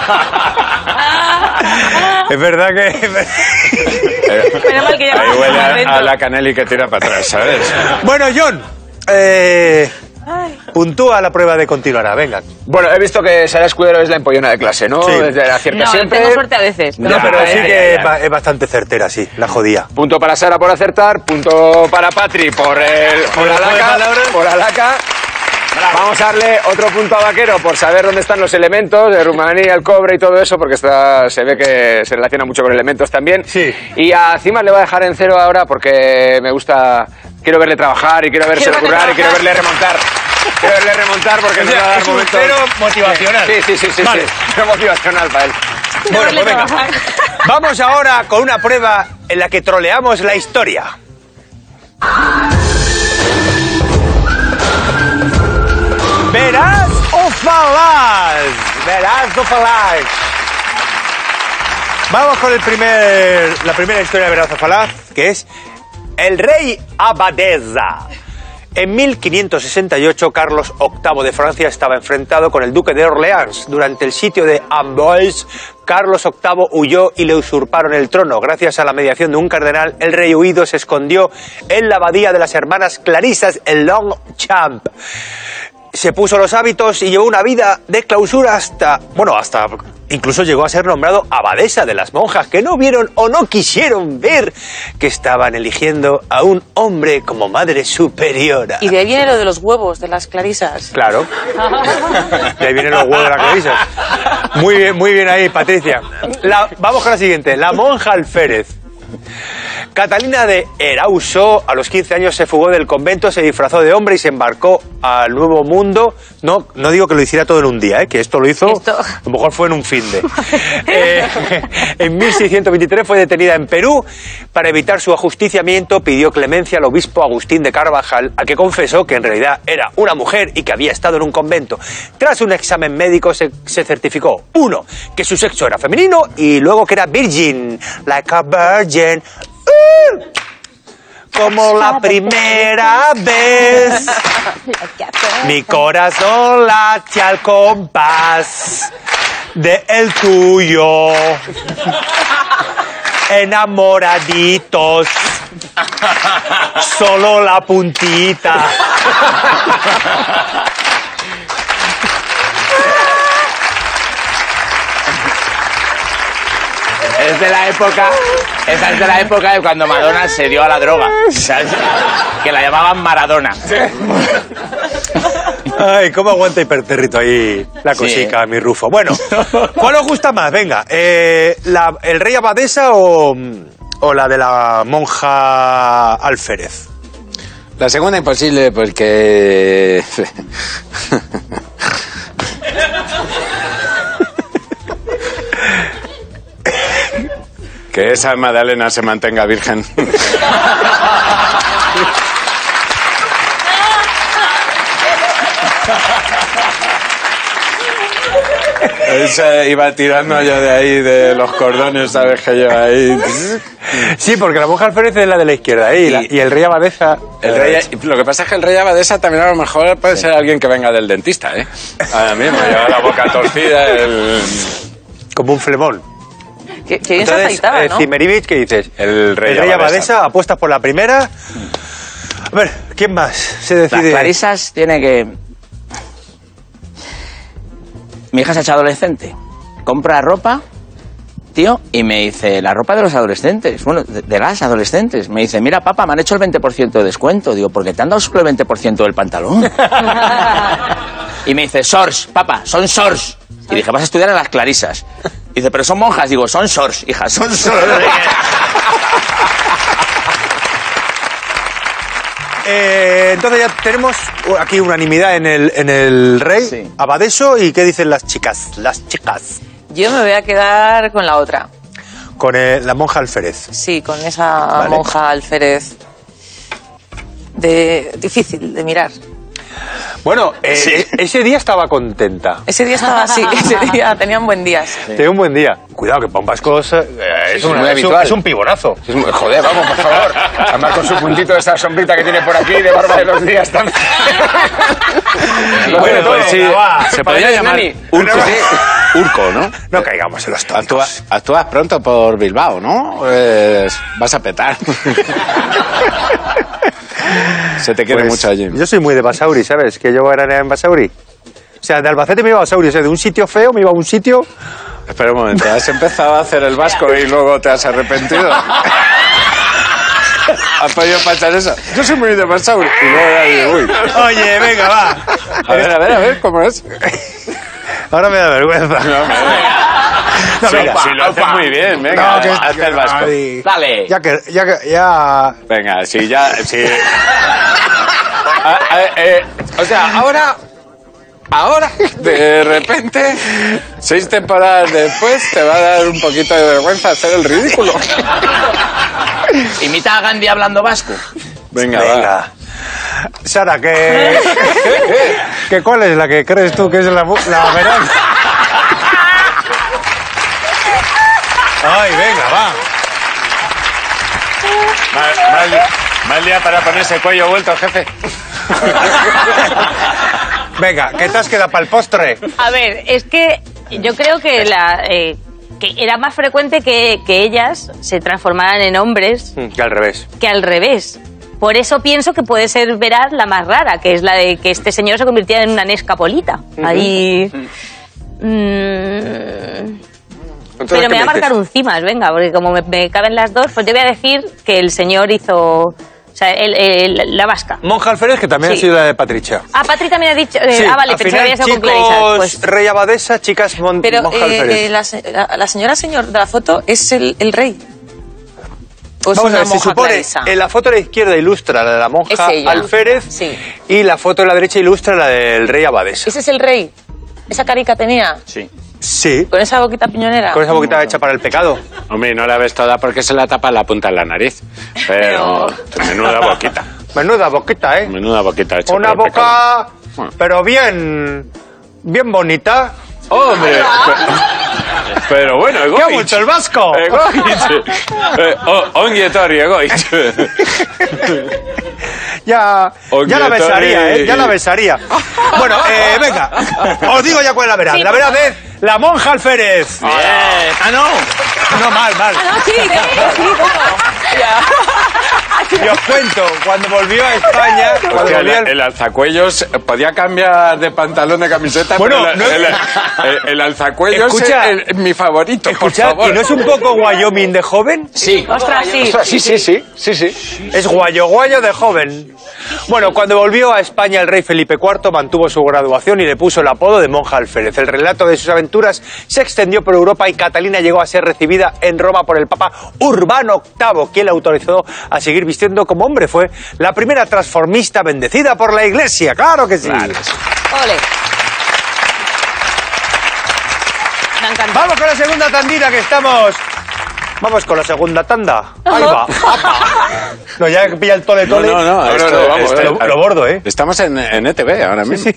Es verdad que... Menos mal que ya Ahí vamos huele a, dentro. a la Canelli que tira para atrás, ¿sabes? Bueno, John, eh, puntúa la prueba de continuará, venga. Bueno, he visto que Sara Escudero es la empollona de clase, ¿no? Sí. Desde la acierta No, siempre. tengo suerte a veces. No, Ya, pero ya, sí ya, que ya, es ya. ba- es bastante certera, sí, la jodía. Punto para Sara por acertar, punto para Patri por el por la juego de laca, palabras. por la laca. Vamos a darle otro punto a Vaquero por saber dónde están los elementos de Rumanía, el cobre y todo eso, porque está, se ve que se relaciona mucho con elementos también. Sí. Y a Cima le voy a dejar en cero ahora porque me gusta, quiero verle trabajar y quiero verle Quiero verle currar y quiero verle remontar. Quiero verle remontar porque O nos sea, va a dar es un momentos. cero motivacional. Sí, sí, sí, sí, Vale. sí. Cero motivacional para él. Bueno, pues venga. Vamos ahora con una prueba en la que troleamos la historia. Verás o falaz. Verás o falaz. Vamos con el primer, la primera historia de Verás o falaz, que es el rey Abadesa. En mil quinientos sesenta y ocho, Carlos octavo de Francia estaba enfrentado con el duque de Orleans. Durante el sitio de Amboise, Carlos octavo huyó y le usurparon el trono. Gracias a la mediación de un cardenal, el rey huido se escondió en la abadía de las hermanas Clarisas en Longchamp. Se puso los hábitos y llevó una vida de clausura hasta, bueno, hasta incluso llegó a ser nombrado abadesa de las monjas, que no vieron o no quisieron ver que estaban eligiendo a un hombre como madre superiora. Y de ahí viene lo de los huevos, de las clarisas. Claro. De ahí vienen los huevos de la clarisa. Muy bien, muy bien ahí, Patricia. La- vamos con la siguiente. La monja alférez. Catalina de Erauso, a los quince años se fugó del convento, se disfrazó de hombre y se embarcó al Nuevo Mundo. No, no digo que lo hiciera todo en un día, ¿eh? Que esto lo hizo, Esto. a lo mejor fue en un fin de. Eh, en mil seiscientos veintitrés fue detenida en Perú. Para evitar su ajusticiamiento, pidió clemencia al obispo Agustín de Carvajal, al que confesó que en realidad era una mujer y que había estado en un convento. Tras un examen médico se, se certificó, uno, que su sexo era femenino y luego que era virgin, like a virgin. ¡Uh! Como la primera vez, mi corazón late al compás de el tuyo. Enamoraditos, solo la puntita. Es de la época, esa es de la época de cuando Madonna se dio a la droga, ¿sabes? Que la llamaban Maradona. Ay, cómo aguanta Hiperterrito ahí la Sí. cosica, mi Rufo. Bueno, ¿cuál os gusta más? Venga, eh, la- ¿el rey abadesa o, o la de la monja alférez? La segunda imposible porque... que esa Magdalena se mantenga virgen. Esa iba tirando yo de ahí, de los cordones, ¿sabes? Que yo ahí... Sí, porque la monja alférez es la de la izquierda ¿eh? y, la- y el rey abadesa... El rey, lo que pasa es que el rey abadesa también a lo mejor puede ser alguien que venga del dentista, ¿eh? Ahora mismo, lleva la boca torcida, el... como un flemón. Que, que bien se Entonces, afeitaba, eh, ¿no? Zimerivich, ¿qué dices? El rey abadesa. abadesa. Apuestas por la primera. A ver, ¿quién más se Las decide? Clarisas tiene que... Mi hija se ha hecho adolescente. Compra ropa, tío, y me dice, la ropa de los adolescentes, bueno, de, de las adolescentes. Me dice, mira, papá, me han hecho el veinte por ciento de descuento. Digo, ¿por qué te han dado solo el veinte por ciento del pantalón? Y me dice, shorts, papá, son shorts. Y dije, vas a estudiar en las Clarisas. Dice, pero son monjas. Digo, son shorts, hija, son shorts. Eh, entonces ya tenemos aquí unanimidad en el, en el rey Sí. abadeso. ¿Y qué dicen las chicas? Las chicas. Yo me voy a quedar con la otra. Con eh, la monja alférez. Sí, con esa Vale. monja alférez. De, difícil de mirar. Bueno, eh, Sí. eh, ese día estaba contenta. Ese día estaba así, ese día tenían buen día. Sí. Tenía un buen día. Cuidado, que Pon Vasco es, eh, es, Sí, un, muy es, un, habitual. es un pibonazo. Es muy- joder, vamos, por favor. Además con su puntito de esa sombrita que tiene por aquí, de barba de los días también. Bueno, todo, pues sí, va. Se podría Pareces llamar Nani. Urco. Urco, ¿no? No caigamos en los tontos. Actúa- actúas pronto por Bilbao, ¿no? Pues vas a petar. Se te quiere Pues, mucho allí. Yo soy muy de Basauri, ¿sabes? Que yo era en Basauri. O sea, de Albacete me iba a Basauri. O sea, de un sitio feo me iba a un sitio... Espera un momento, ¿has empezado a hacer el vasco y luego te has arrepentido? ¿Has podido pasar eso? Yo soy muy de Basauri. Y luego ya digo, uy. Oye, venga, va. A ver, a ver, a ver, ¿cómo es? Ahora me da vergüenza. No, Sí, venga. sí, lo haces muy bien, venga, No, que- haz el vasco. Ay, Dale. Ya que, ya que, ya... Venga, sí, ya, sí. Ah, ah, eh, o sea, ahora, ahora, de repente, seis temporadas después, te va a dar un poquito de vergüenza hacer el ridículo. Imita a Gandhi hablando vasco. Venga, va. Venga. Sara, que... que ¿cuál es la que crees tú que es la, bu- la verdad? Ay, venga, va. Mal, mal, mal día para ponerse el cuello vuelto, jefe. Venga, ¿qué te has quedado para el postre? A ver, es que yo creo que la eh, que era más frecuente que, que ellas se transformaran en hombres Que al revés. que al revés. Por eso pienso que puede ser veraz la más rara, que es la de que este señor se convirtiera en una Nescapolita. Ahí... Mm, Entonces, pero ¿qué me voy a dices? marcar un cimas, venga, porque como me, me caben las dos, pues yo voy a decir que el señor hizo... O sea, el, el- la vasca. Monja Alférez, que también Sí. ha sido la de Patricia. Ah, Patri también ha dicho... eh, Sí, ah, vale, al pensaba que final, había sido con chicos, Clarisa. Pues, Rey Abadesa, chicas Mon Pero Monja eh, Alférez. eh, la, se- la- la señora señor de la foto es el, el rey. ¿O es Vamos a una ver, se monja supone, clarisa? en la foto de la izquierda ilustra la de la monja Es ella. Alférez Sí. y la foto de la derecha ilustra la del rey Abadesa. ¿Ese es el rey? ¿Esa carica tenía? Sí. Sí, ¿Con esa boquita piñonera? con esa boquita hecha para el pecado. Hombre, no la ves toda porque se la tapa la punta de la nariz. Pero, menuda boquita. Menuda boquita, ¿eh? Menuda boquita hecha Una por el pecado. boca, pero bien, bien bonita. ¡Hombre! Pero bueno, ¡Qué egoitz. mucho el vasco! Egoitz. Eh, oh, ongi etorri, egoitz. Ya, Ongi ya la etorri. besaría, ¿eh? Ya la besaría. Bueno, eh, venga, os digo ya cuál es la verdad. Sí, La por verdad es la monja Alférez. Ah, no. No, mal, mal. Ah, sí, sí, sí, Y os cuento, cuando volvió a España, cuando Hostia, volvió el, al- el alzacuellos podía cambiar de pantalón de camiseta, Bueno, pero el, no- el, el- el alzacuellos Escucha, es el- mi favorito, Escuchad, por favor. ¿y no es un poco Wyoming de joven? Sí. ostras, sí. Sí, sí, sí, sí, sí. Es guayo guayo de joven. Bueno, cuando volvió a España el rey Felipe cuarto mantuvo su graduación y le puso el apodo de monja alférez. El relato de sus aventuras se extendió por Europa y Catalina llegó a ser recibida en Roma por el Papa Urbano octavo, quien la autorizó a seguir vistiendo como hombre. Fue la primera transformista bendecida por la Iglesia, claro que sí. Ole. Me ha encantado. Vamos con la segunda tandita que estamos... Vamos con la segunda tanda. Ahí va. Apa. No, ya pilla el tole No, tole. no, no, esto- no, vamos, esto- lo, lo bordo, ¿eh? Estamos en, en E T V ahora mismo.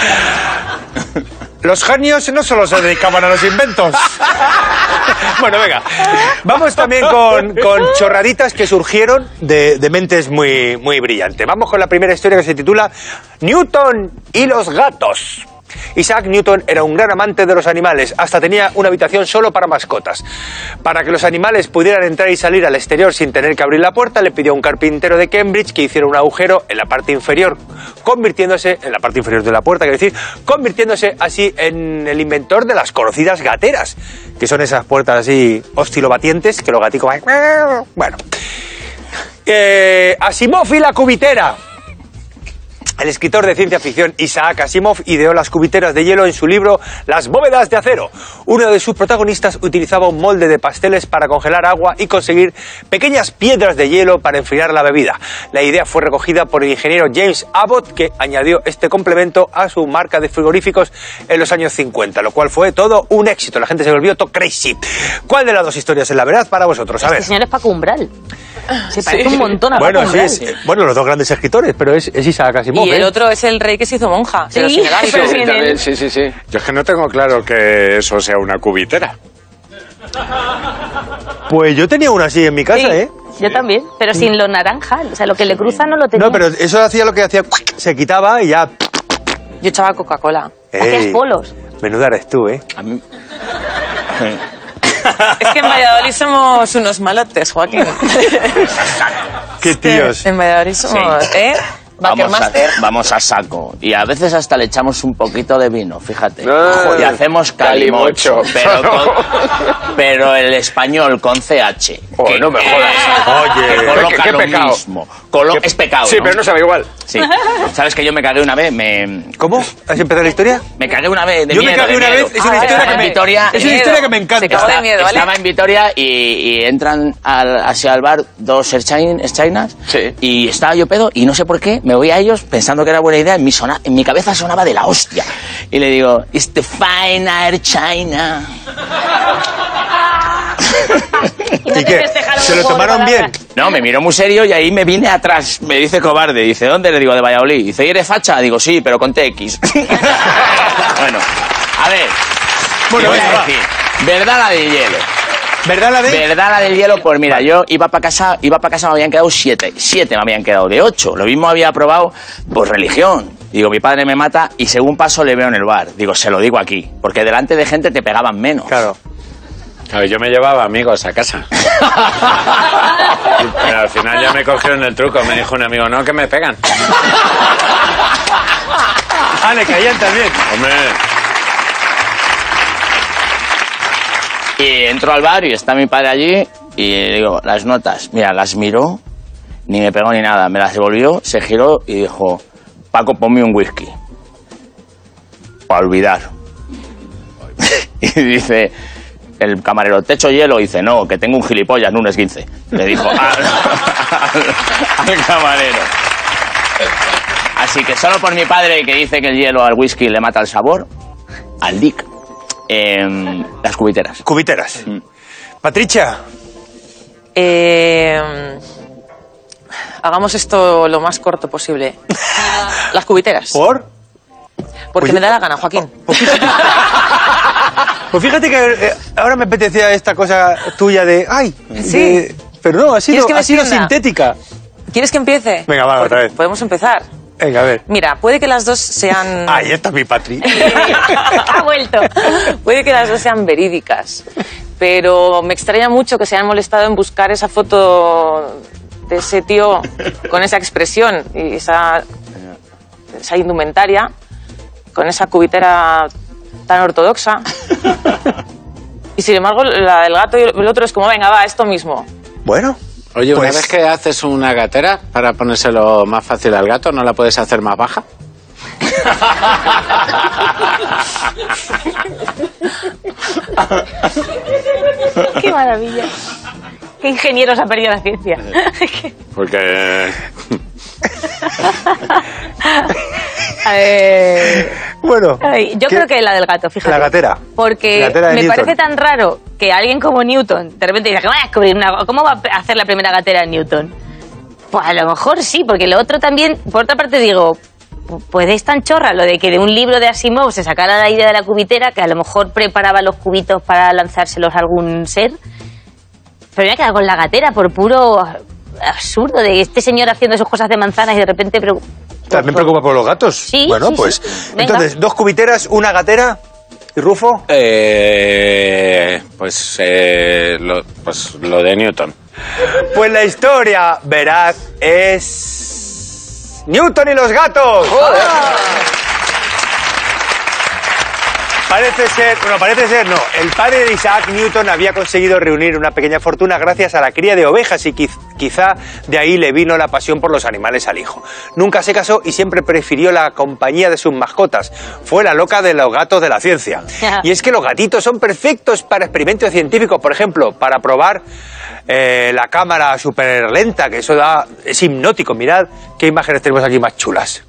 Los genios no solo se dedicaban a los inventos. Bueno, venga. Vamos también con, con chorraditas que surgieron de, de mentes muy, muy brillantes. Vamos con la primera historia que se titula Newton y los gatos. Isaac Newton era un gran amante de los animales, hasta tenía una habitación solo para mascotas. Para que los animales pudieran entrar y salir al exterior sin tener que abrir la puerta, le pidió a un carpintero de Cambridge que hiciera un agujero en la parte inferior, convirtiéndose, en la parte inferior de la puerta, quiero decir, convirtiéndose así en el inventor de las conocidas gateras, que son esas puertas así oscilobatientes que los gaticos van... Bueno. Eh, Asimov y la cubitera. El escritor de ciencia ficción Isaac Asimov ideó las cubiteras de hielo en su libro Las bóvedas de acero. Uno de sus protagonistas utilizaba un molde de pasteles para congelar agua y conseguir pequeñas piedras de hielo para enfriar la bebida. La idea fue recogida por el ingeniero James Abbott, que añadió este complemento a su marca de frigoríficos en los años cincuenta, lo cual fue todo un éxito. La gente se volvió todo crazy. ¿Cuál de las dos historias es la verdad para vosotros? A ver. Este señor es Paco Umbral. Se parece Sí. un montón a Bueno, Paco sí, Umbral. es, bueno, los dos grandes escritores, pero es, es Isaac Asimov. Y el ¿eh? otro es el rey que se hizo monja, Sí, pero sin el hábito. pero Sí, sin también, él. sí, sí, sí. Yo es que no tengo claro que eso sea una cubitera. Pues yo tenía una así en mi casa, Sí, ¿eh? yo también, pero sin lo naranja. O sea, lo que le cruza no lo tenía. No, pero eso hacía lo que hacía, se quitaba y ya... Yo echaba Coca-Cola. Hacías Ey, polos. menuda eres tú, ¿eh? A mí- Es que en Valladolid somos unos malotes, Joaquín. Qué tíos. En Valladolid somos, Sí. ¿eh? Vamos a, Bakermaster. vamos a saco. Y a veces hasta le echamos un poquito de vino, fíjate. Ah, y hacemos calimocho. calimocho. Pero, con- pero el español con C H. Oh, que- no me jodas. Oye, que coloca ¿qué- qué lo pecado? mismo. Colo- ¿Qué- es pecado. Sí, ¿no? pero no sabe igual. Sí. ¿Sabes que yo me cagué una vez? Me, ¿Cómo? ¿Has empezado la historia? me cagué una vez de Yo me miedo, cagué de una miedo. vez, es una Ah, historia Estaba que en me... Vitoria Es y- una historia que me encanta. Se cagó de miedo, ¿vale? Estaba en Vitoria y, y entran al, hacia el bar dos chinas Sí. y estaba yo pedo y no sé por qué me voy a ellos pensando que era buena idea, en mi, sona- en mi cabeza sonaba de la hostia y le digo, it's the fine Air China. Y no ¿Y te qué? festejaron ¿Se un lo juego de tomaron bien? palabras. No, me miró muy serio y ahí me vine atrás. Me dice cobarde. Dice, ¿dónde? Le digo, de Valladolid. Dice, ¿y eres facha? Digo, sí, pero con T X. Bueno, a ver. Bueno, ¿qué voy venga, a va. decir? ¿Verdad la del hielo? ¿Verdad la de...? ¿Verdad la del hielo? Pues mira, yo iba para casa, iba para casa, me habían quedado siete. Siete me habían quedado de ocho. Lo mismo había probado, pues religión. Digo, mi padre me mata y según paso le veo en el bar. Digo, se lo digo aquí. Porque delante de gente te pegaban menos. Claro. Claro, yo me llevaba amigos a casa. Pero al final ya me cogieron el truco. Me dijo un amigo, no, que me pegan. Ah, le caían también. Hombre, Y entro al bar y está mi padre allí y le digo, las notas, mira, las miró, ni me pegó ni nada, me las devolvió, se giró y dijo, Paco, ponme un whisky. Para olvidar. Y dice, el camarero, ¿te echo hielo? Y dice, no, que tengo un gilipollas, no un esguince. Le dijo al, al- al camarero. Así que solo por mi padre, que dice que el hielo al whisky le mata el sabor, al Dick, em, las cubiteras. Cubiteras. Patricia, Eh, hagamos esto lo más corto posible. Las cubiteras. ¿por? Porque Pues- me da la gana, Joaquín. Pues fíjate que eh, ahora me apetecía esta cosa tuya de... ¡Ay! Sí. de- pero no, ha sido, ¿Quieres que me ha sido extienda? sintética. ¿Quieres que empiece? Venga, va, otra vez. Podemos empezar. Venga, a ver. Mira, puede que las dos sean... Ahí está mi Patri. Ha vuelto. Puede que las dos sean verídicas, pero me extraña mucho que se hayan molestado en buscar esa foto de ese tío con esa expresión y esa, esa indumentaria, con esa cubitera tan ortodoxa. Y sin embargo, la del gato y el otro es como, venga, va, esto mismo. Bueno. oye, una Pues- vez que haces una gatera para ponérselo más fácil al gato, ¿no la puedes hacer más baja? Qué maravilla. Qué ingeniero se ha perdido la ciencia. Porque... Eh, Bueno. ay, yo ¿qué? creo que la del gato, fíjate. La gatera. Porque La gatera de me Newton. parece tan raro que alguien como Newton de repente diga que va a descubrir una... ¿Cómo va a hacer la primera gatera en Newton? Pues a lo mejor sí, porque lo otro también... Por otra parte digo, pues es tan chorra lo de que de un libro de Asimov se sacara la idea de la cubitera, que a lo mejor preparaba los cubitos para lanzárselos a algún ser. Pero me he quedado con la gatera por puro absurdo de este señor haciendo sus cosas de manzanas y de repente... Pre- ¿También preocupa por los gatos? Sí, Bueno, sí, pues... sí. Venga. Entonces, dos cubiteras, una gatera y Rufo. Eh, pues, eh, lo, pues lo de Newton. Pues la historia veraz es... ¡Newton y los gatos! Parece ser, bueno, parece ser no. El padre de Isaac Newton había conseguido reunir una pequeña fortuna gracias a la cría de ovejas y quiz- quizá de ahí le vino la pasión por los animales al hijo. Nunca se casó y siempre prefirió la compañía de sus mascotas. Fue la loca de los gatos de la ciencia. Y es que los gatitos son perfectos para experimentos científicos, por ejemplo, para probar eh, la cámara súper lenta, que eso da, es hipnótico. Mirad qué imágenes tenemos aquí más chulas.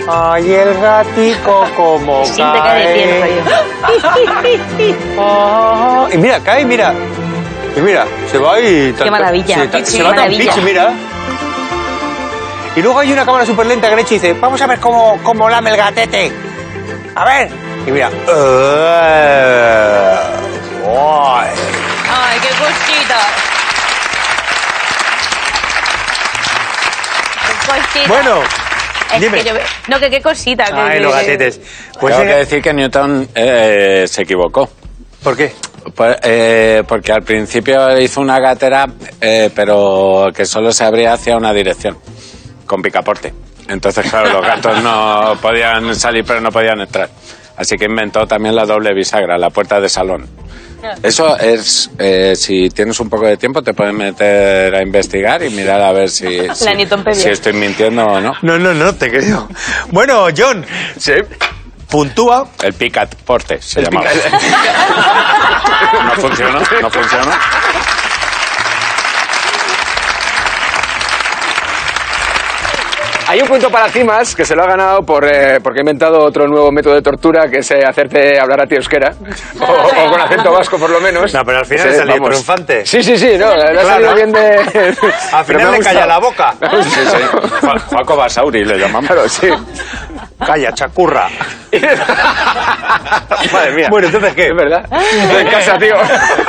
Ay, el gatico como Siempre cae de pie, no Ah, y mira, cae, mira. Y mira, se va y... Qué maravilla, Se, ta- qué se va tan maravilla. pichi, mira. Y luego hay una cámara súper lenta que han hecho y dice, vamos a ver cómo, cómo lame el gatete. A ver. Y mira. Uh, ¡ay! Ay, qué cosita. Qué cosita. Bueno, Es dime. que yo- no, que qué cosita. que- Ay, que- los gatetes. Pues Tengo eh, que decir que Newton eh, se equivocó. ¿Por qué? Pues, eh, porque al principio hizo una gatera, eh, pero que solo se abría hacia una dirección, con picaporte. Entonces, claro, los gatos no podían salir, pero no podían entrar. Así que inventó también la doble bisagra, la puerta de salón. Eso es, eh, si tienes un poco de tiempo, te puedes meter a investigar y mirar a ver si, si, Newtonpedia. si estoy mintiendo o no. No, no, no, te creo. Bueno, John. Sí. Puntúa. El picaporte se El llamaba. pica- No funcionó, no funcionó. Hay un punto para Cimas que se lo ha ganado por, eh, porque ha inventado otro nuevo método de tortura que es eh, hacerte hablar a ti euskera. O, o con acento vasco, por lo menos. No, pero al final Sí, ha salido vamos. triunfante. Sí, sí, sí, no, le ha Claro. salido bien de... Al Pero me final ha le calla gustado. la boca. Sí, sí. Ju- Juaco Basauri le llamamos. Claro, sí. Calla, chacurra. Madre mía. Bueno, entonces, ¿qué? Es verdad. Estoy en casa, tío.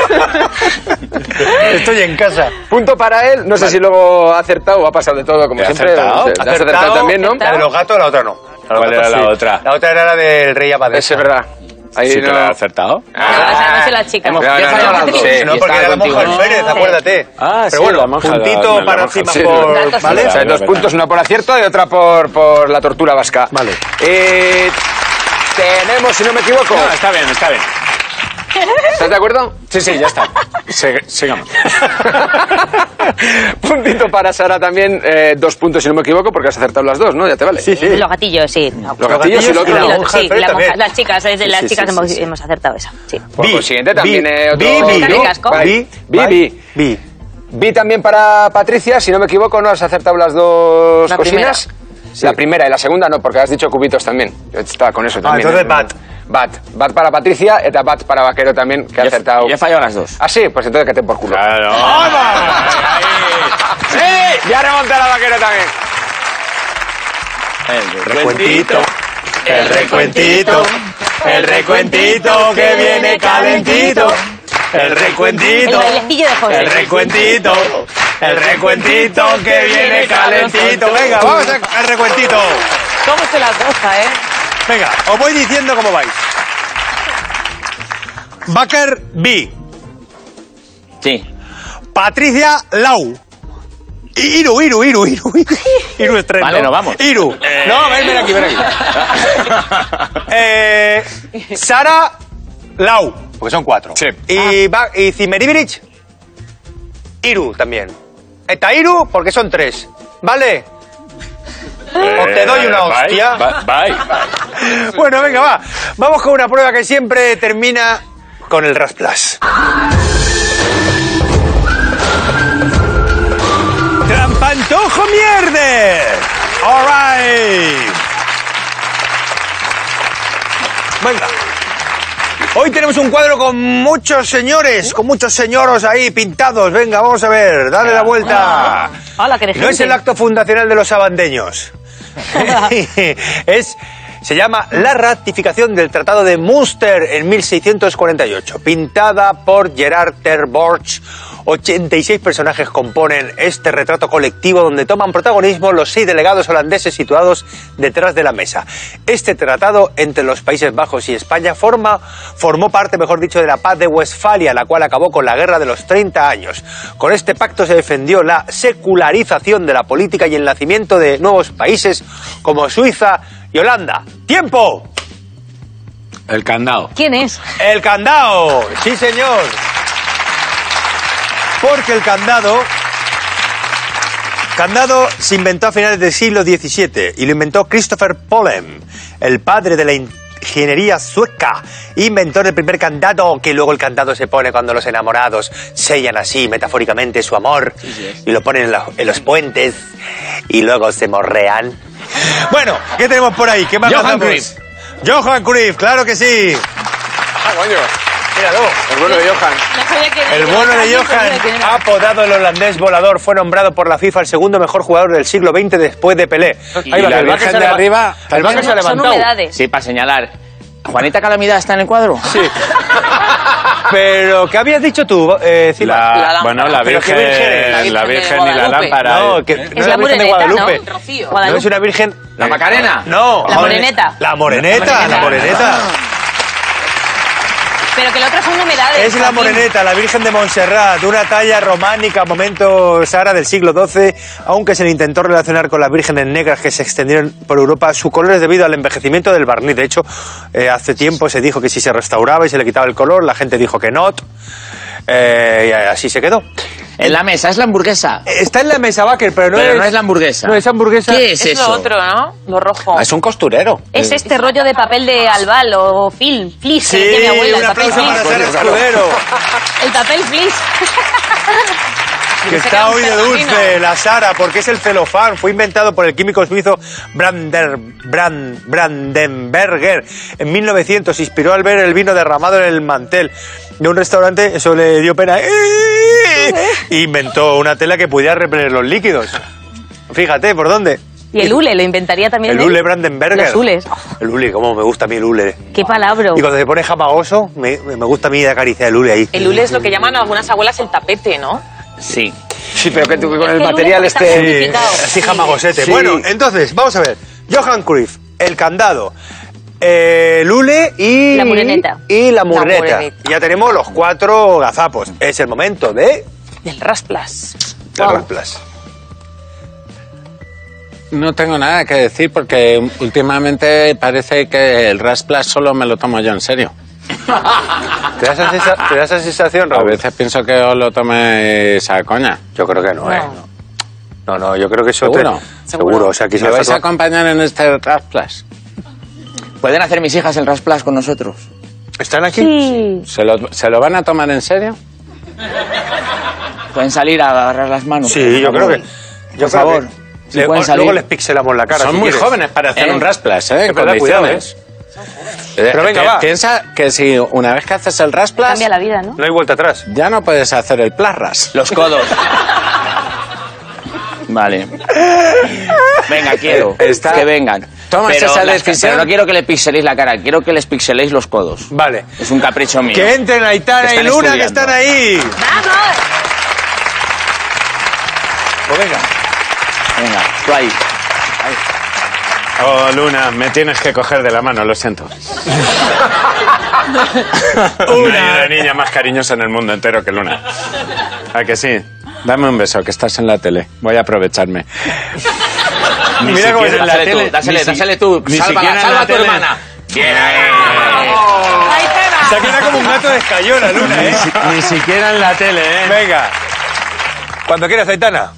Estoy en casa. Punto para él. No sé si luego ha acertado o ha pasado de todo, como ¿He siempre. acertado? No sé, ¿te has acertado también, ¿no? La de los gatos, la otra no. La de los ¿Cuál era gatos la sí. otra? La otra era la del rey Abadesa. Ese es verdad. Ahí Sí que no. le he acertado. No, esa no sé la chica. Hemos- No, yo he no, fallado no, las dos. sí. No, Y porque estaba era la monja contigo. del Pérez, acuérdate. Ah, Pero sí, bueno, la monja, puntito la- la para monja, encima sí. por... Datos, ¿Vale? sí. O sea, dos puntos, una por acierto y otra por, por la tortura vasca. Vale. Eh, tenemos, si no me equivoco. No, está bien, está bien. ¿Estás de acuerdo? Sí, sí, ya está. Sigue- sigamos. Puntito para Sara también, eh, dos puntos si no me equivoco, porque has acertado las dos, ¿no? Ya te vale. Sí, sí. Los gatillos, sí. No. Los gatillos y lo otro y la no. monja Sí, del Pérez la monja- también. las chicas, es de las Sí, chicas sí, hemos, sí, sí. hemos acertado esa. Sí. Por Vi, consiguiente, también vi, eh, otro... vi, vi, Carne ¿no? casco. Vale. Vi, Vi, vi. vi. Vi también para Patricia, si no me equivoco, ¿no has acertado las dos La cocinas? La primera y la segunda no, porque has dicho cubitos también. Yo estaba con eso Ah, también. entonces ¿eh? bat. Bat. Bat para Patricia, eta bat para Vaquero también, que ha Yo- acertado. Yo he fallado las dos. Ah, sí, pues entonces que te por culo. Claro. ¡Sí! Ya remonta la Vaquero también. El Recuentito, el recuentito, el recuentito que viene calentito. El recuentito, El bailecillo de José. el recuentito, el recuentito que viene calentito. Venga, vamos al recuentito. ¿Cómo se la cosa, eh? Venga, os voy diciendo cómo vais. Baker B. Sí. Patricia Lau. Iru, Iru, Iru, Iru. Iru estreno. Vale, nos vamos. Iru. No, ven, ven aquí, ven aquí. eh, Sara Lau. Porque son cuatro. Sí. Y, ba- y Zimmeribirich. Iru también. Está Iru porque son tres. ¿Vale? O te doy una Eh, bye, hostia. Bye. bye. Bueno, venga, va. Vamos con una prueba que siempre termina con el Rasplas. ¡Trampantojo mierde! All right. Venga. Hoy tenemos un cuadro con muchos señores, con muchos señoros ahí pintados. Venga, vamos a ver, dale la vuelta. Hola, que No es el acto fundacional de los sabandeños. es, se llama la ratificación del Tratado de Münster en mil seiscientos cuarenta y ocho, pintada por Gerard ter Borch. ochenta y seis personajes componen este retrato colectivo donde toman protagonismo los seis delegados holandeses situados detrás de la mesa. Este tratado entre los Países Bajos y España forma, formó parte, mejor dicho, de la paz de Westfalia, la cual acabó con la guerra de los treinta años. Con este pacto se defendió la secularización de la política y el nacimiento de nuevos países como Suiza y Holanda. ¡Tiempo! El candado. ¿Quién es? El candado, sí señor. Porque el candado, candado se inventó a finales del siglo diecisiete y lo inventó Christopher Polem, el padre de la ingeniería sueca. Inventó el primer candado, que luego el candado se pone cuando los enamorados sellan así metafóricamente su amor y lo ponen en, la- en los puentes y luego se morrean. Bueno, ¿qué tenemos por ahí? ¿Qué más Johan lanzamos? Cruyff. Johan Cruyff, claro que sí. Ah, coño. Míralo. El bueno de Johan. No sabía que El bueno de Johan, apodado el holandés volador, fue nombrado por la FIFA el segundo mejor jugador del siglo veinte después de Pelé. Y Ahí va, la el Barça Virgen se de leva- arriba El Barça se ha Son levantado. humedades. Sí, para señalar. ¿Juanita Calamidad está en el cuadro? Sí. Pero, ¿qué habías dicho tú, eh, Cima? La, La lámpara. bueno, la Pero qué Virgen, virgen, la Virgen la de Virgen y la Guadalupe. lámpara. No, que no Es es la la Virgen de moreneta, Guadalupe. ¿no? Rocío. No es una virgen... ¿La Macarena? No. La joder, moreneta. La moreneta, la La moreneta. Pero que el otro son humedades. Es la Joaquín. moreneta, la Virgen de Montserrat, una talla románica, momento Sara del siglo doce, aunque se le intentó relacionar con las vírgenes negras que se extendieron por Europa. Su color es debido al envejecimiento del barniz. De hecho, eh, hace tiempo se dijo que si se restauraba y se le quitaba el color, la gente dijo que no. Eh, y así se quedó. En la mesa, es la hamburguesa. Está en la mesa Baker, pero no, Pero es, no es la hamburguesa. No es hamburguesa. ¿Qué es, Es eso? lo otro, ¿no? Lo rojo. Es un costurero. Es este rollo de papel de albal o film, flis, Sí, que decía mi abuela, un el papel aplauso para flis. Sara Escudero, El papel flis. que está hoy de dulce, la Sara, porque es el celofán. Fue inventado por el químico suizo Brander, Brand, Brandenberger en mil novecientos. Inspiró al ver el vino derramado en el mantel de un restaurante. Eso le dio pena. E inventó una tela que pudiera repeler los líquidos. Fíjate, ¿por dónde? Y el hule, lo inventaría también El él. hule Brandenberger. Los hules. El hule, cómo me gusta a mí el hule. Qué palabra. Y cuando se pone jamagoso, me, me gusta a mí acariciar el hule ahí. El hule es lo que llaman algunas abuelas el tapete, ¿no? Sí. Sí, pero que tú con Es el que el material hule está este... Sí, Significado. así jamagosete. Sí. Bueno, entonces, vamos a ver. Johan Cruyff, el candado, eh, el hule y... La mureneta. Y la mureneta. mureneta. Ya tenemos los cuatro gazapos. Es el momento de... Del rasplas. de Wow. Rasplas. No tengo nada que decir porque últimamente parece que el Rasplas solo me lo tomo yo en serio. ¿Te da esa, sensa- te da esa sensación, A Raúl? veces pienso que os lo toméis a coña. Yo creo que no, ¿eh? No, no, yo creo que eso... ¿Seguro? Te... Seguro. O sea, ¿Me quizás... vais a acompañar en este Rasplas? ¿Pueden hacer mis hijas el Rasplas con nosotros? ¿Están aquí? Sí. ¿Se lo, ¿Se lo van a tomar en serio? ¿Pueden salir a agarrar las manos? Sí, yo creo que... Yo Por creo favor, que- si Le- pueden salir. luego les pixelamos la cara. Son si muy quieres. jóvenes para hacer ¿Eh? un Rasplas, ¿eh? Es verdad, cuidado, Condiciones. Eh, Pero venga, que va. Piensa que si una vez que haces el Rasplas, Cambia la vida, ¿no? No hay vuelta atrás. ya no puedes hacer el plasras. Los codos. Vale. Venga, quiero. Eh, está- Que vengan. Tomas pero, esa las- decisión. pero no quiero que le pixeléis la cara, quiero que les pixeléis los codos. Vale. Es un capricho mío. Que entren Aitana y Están Luna, que estudiando. están ahí. ¡Vamos! Pues venga. Venga, tú ahí. Oh, Luna, me tienes que coger de la mano, lo siento. No hay una niña más cariñosa en el mundo entero que Luna. ¿A que sí? Dame un beso, que estás en la tele. Voy a aprovecharme. Ni Mira cómo siquiera se- en la Dásele tele, tú, dásele, ni si- dásele tú. ni Sálvala, siquiera en salva la a tu tele. hermana. Bien. Se queda como un gato de escayola, Luna, ¿eh? Ni, si- ni siquiera en la tele, ¿eh? Venga. Cuando quieras, Aitana.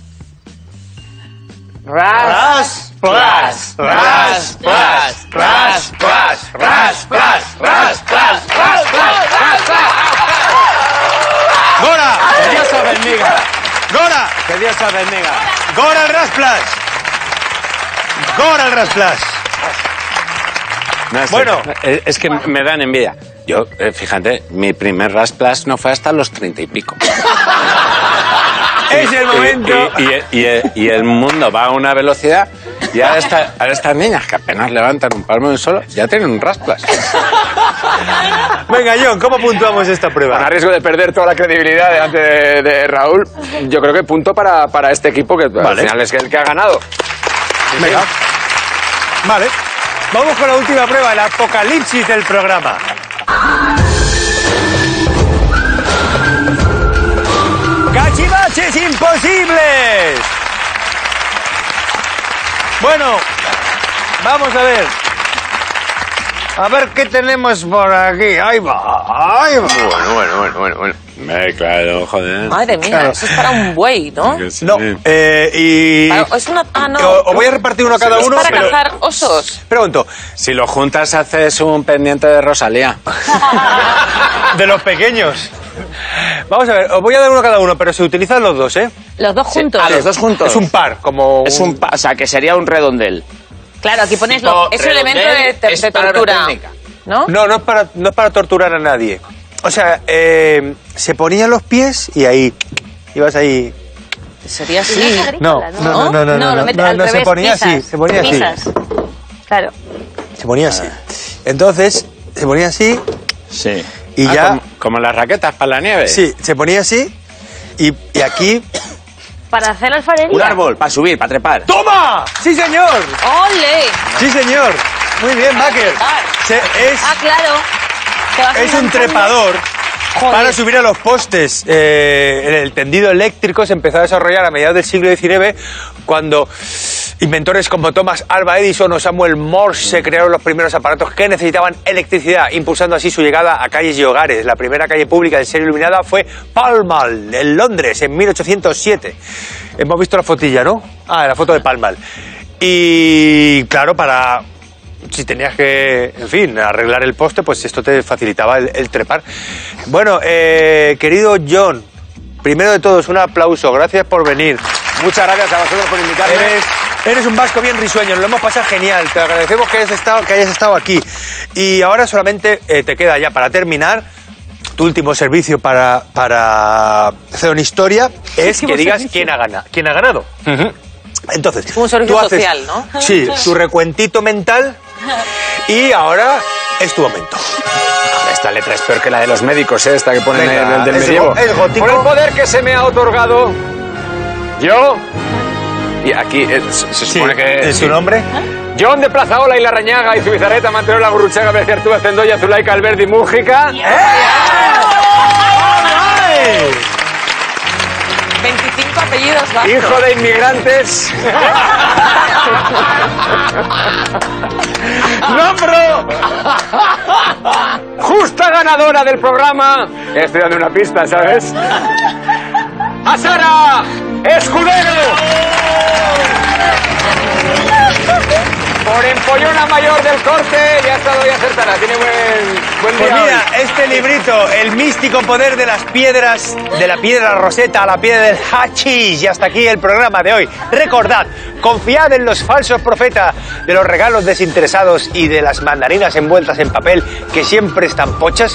Ras, plas, ras, plas, ras, plas, ras, plas, ras, plas, ras, plas, ras, plas. ¡Gora! Que Dios os bendiga. ¡Gora! Que Dios os bendiga. ¡Gora al Rasplas! ¡Gora al Rasplas! No, es Bueno. que- es, es que me dan envidia. Yo, eh, fíjate, mi primer Rasplas no fue hasta los treinta y pico. Es el momento. Y, y- y- y el mundo va a una velocidad y ahora, esta- ahora estas niñas que apenas levantan un palmo de un solo ya tienen un Rasplas. Venga, John, ¿cómo puntuamos esta Con prueba? a riesgo de perder toda la credibilidad delante de, de Raúl, yo creo que punto para, para este equipo que al Vale. final es el que ha ganado. Venga. Vale. Vamos con la última prueba, el apocalipsis del programa. ¡Cachivaches imposibles! Bueno, vamos a ver. A ver qué tenemos por aquí. Ahí va, ahí va. Bueno, bueno, bueno, bueno. bueno. Eh, claro, joder. Madre mía, Claro. eso es para un buey, ¿no? Que sí. No, eh, y... Para- es una... Ah, no. O- Os voy a repartir uno a cada es uno, para pero... cazar osos. Pregunto, Si lo juntas haces un pendiente de Rosalía. de los pequeños. Vamos a ver, os voy a dar uno a cada uno, pero se utilizan los dos, ¿eh? Los dos juntos. A los dos juntos. Es un par, como... Es un pa- o sea, que sería un redondel. Claro, aquí pones Tipo, lo... Es un elemento de, de, es de palabra tortura, técnica. ¿no? No, no es para, no es para torturar a nadie. O sea, eh, se ponían los pies y ahí, ibas ahí... Sería Sí, así. No, agrícola, no, no, no, no, lo no, metes no, al no, se revés, ponía pisas, así, se ponía así. pisas. Claro. Se ponía así. Entonces, se ponía así Sí. y Ah, ya... Como, como las raquetas para la nieve. Sí, se ponía así y, y aquí... Para hacer alfarería. Un árbol, para subir, para trepar. ¡Toma! ¡Sí, señor! ¡Ole! ¡Sí, señor! Muy bien, Baker. Se- es, Ah, claro. Te vas es un enganchando. trepador para subir a los postes. Eh, el tendido eléctrico se empezó a desarrollar a mediados del siglo diecinueve cuando inventores como Thomas Alva Edison o Samuel Morse crearon los primeros aparatos que necesitaban electricidad, impulsando así su llegada a calles y hogares. La primera calle pública en ser iluminada fue Pall Mall, en Londres, en mil ochocientos siete. Hemos visto la fotilla, ¿no? Ah, la foto de Pall Mall. Y claro, para... si tenías que, en fin, arreglar el poste, pues esto te facilitaba el, el trepar. Bueno, eh, querido John, primero de todo, un aplauso. Gracias por venir. Muchas gracias a vosotros por invitarme. Eres, eres un vasco bien risueño, nos lo hemos pasado genial. Te agradecemos que hayas estado, que hayas estado aquí. Y ahora solamente eh, te queda ya para terminar tu último servicio para, para hacer una historia, es que digas quién ha ganado. ¿Quién ha ganado? Entonces, Es como un servicio tú haces- social, ¿no? Sí, tu recuentito mental y ahora es tu momento. Esta letra es peor que la de los médicos, ¿eh? Esta que ponen Venga, en el del es medievo. go- es gótico. Por el poder que se me ha otorgado, yo... Y aquí eh, se se Sí, supone que... ¿es sí. su nombre? John de Plazaola y Larrañaga y Zubizarreta, Manterola, Gurruchaga, Berciartúa, Cendoya, Zulaica, Alberdi, Mújica... veinticinco apellidos vascos. Hijo de inmigrantes. ¡Nombro! Justa ganadora del programa. Estoy dando una pista, ¿sabes? ¡A Sara Escudero! Por empollona mayor del corte, ya ha estado ya acertada. Tiene buen, buen Pues día mira, hoy. este librito, El místico poder de las piedras, de la piedra roseta a la piedra del hachís. Y hasta aquí el programa de hoy. Recordad, confiad en los falsos profetas de los regalos desinteresados y de las mandarinas envueltas en papel que siempre están pochas.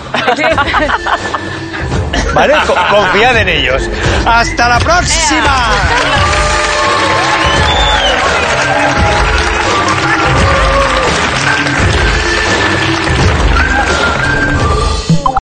¿Vale? Co- confiad en ellos. ¡Hasta la próxima!